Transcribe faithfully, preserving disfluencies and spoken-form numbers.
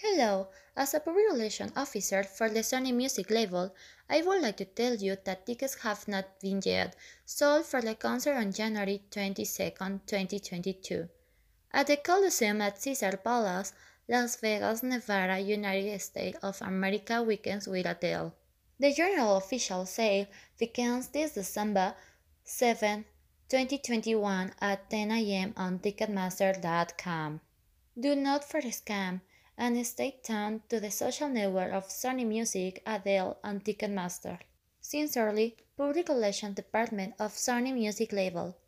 Hello, as a public relations officer for the Sony Music label, I would like to tell you that tickets have not been yet sold for the concert on January twenty-second, twenty twenty-two, at the Coliseum at Caesar Palace, Las Vegas, Nevada, United States of America weekends with Adele. The general official sale begins this December seventh, twenty twenty-one at ten a m on Ticketmaster dot com. Do not for scam and stay tuned to the social network of Sony Music, Adele, and Ticketmaster. Sincerely, Public Relations Department of Sony Music Label.